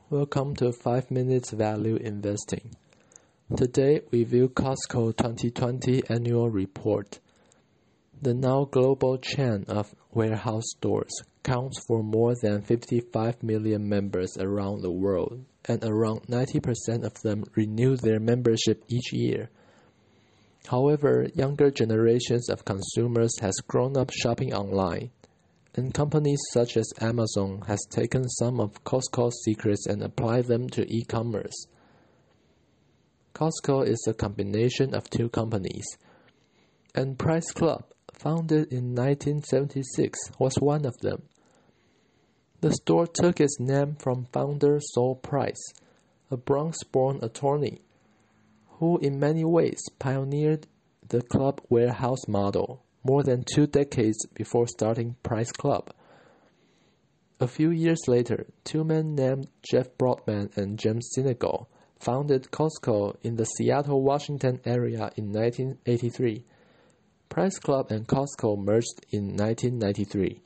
Welcome to 5 Minutes Value Investing. Today we view Costco 2020 Annual Report. The now global chain of warehouse stores counts for more than 55 million members around the world, and around 90% of them renew their membership each year. However, younger generations of consumers has grown up shopping online, and companies such as Amazon has taken some of Costco's secrets and applied them to e-commerce. Costco is a combination of two companies, and Price Club, founded in 1976, was one of them. The store took its name from founder Sol Price, a Bronx-born attorney, who in many ways pioneered the club warehouse model more than 2 decades before starting Price Club. A few years later, two men named Jeff Broadman and James Sinegal founded Costco in the Seattle, Washington area in 1983. Price Club and Costco merged in 1993.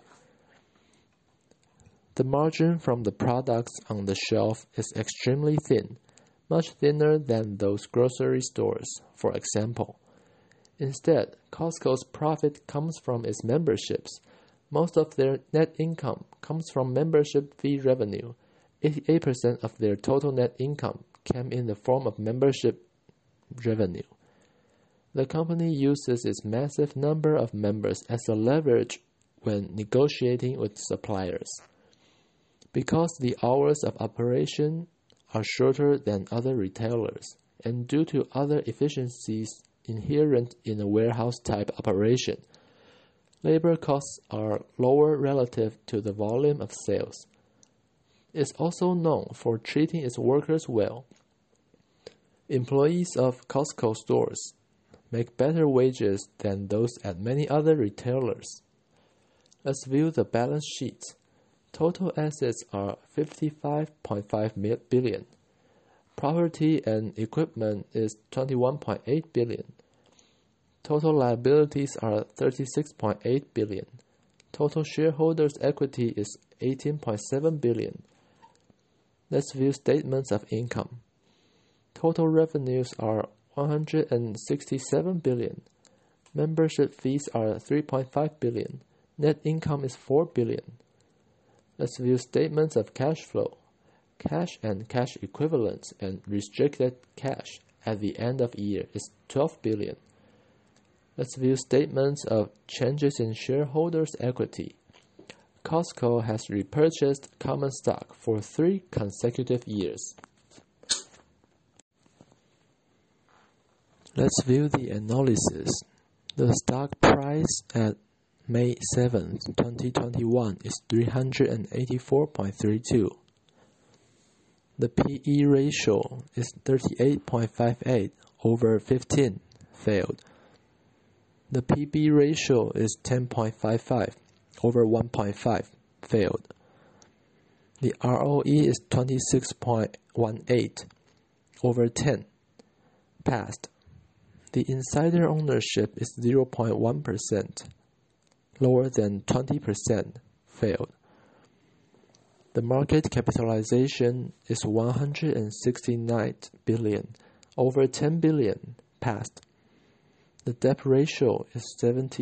The margin from the products on the shelf is extremely thin, much thinner than those grocery stores, for example. Instead, Costco's profit comes from its memberships. Most of their net income comes from membership fee revenue. 88% of their total net income came in the form of membership revenue. The company uses its massive number of members as a leverage when negotiating with suppliers. Because the hours of operation are shorter than other retailers, and due to other efficiencies inherent in a warehouse-type operation, labor costs are lower relative to the volume of sales. It's also known for treating its workers well. Employees of Costco stores make better wages than those at many other retailers. Let's view the balance sheet. Total assets are $55.5 billion. Property and equipment is $21.8 billion. Total liabilities are $36.8 billion. Total shareholders' equity is $18.7 billion. Let's view statements of income. Total revenues are $167 billion. Membership fees are $3.5 billion. Net income is $4 billion. Let's view statements of cash flow. Cash and cash equivalents and restricted cash at the end of year is $12 billion. Let's view statements of changes in shareholders' equity. Costco has repurchased common stock for 3 consecutive years. Let's view the analysis. The stock price at May 7, 2021 is 384.32. The PE ratio is 38.58 over 15, failed. The PB ratio is 10.55 over 1.5, failed. The ROE is 26.18 over 10, passed. The insider ownership is 0.1%, lower than 20%, failed. The market capitalization is $169 billion, over 10 billion, passed. The debt ratio is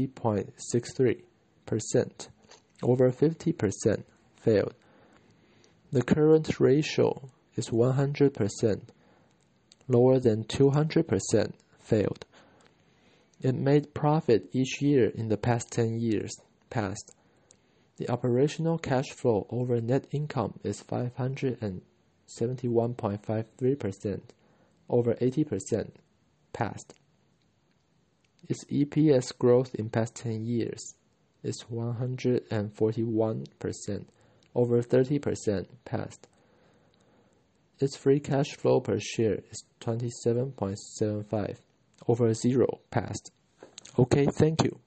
70.63%, over 50%, failed. The current ratio is 100%, lower than 200%, failed. It made profit each year in the past 10 years, passed. The operational cash flow over net income is 571.53%, over 80%, passed. Its EPS growth in past 10 years is 141%, over 30%, passed. Its free cash flow per share is 27.75, over 0, passed. Okay, thank you.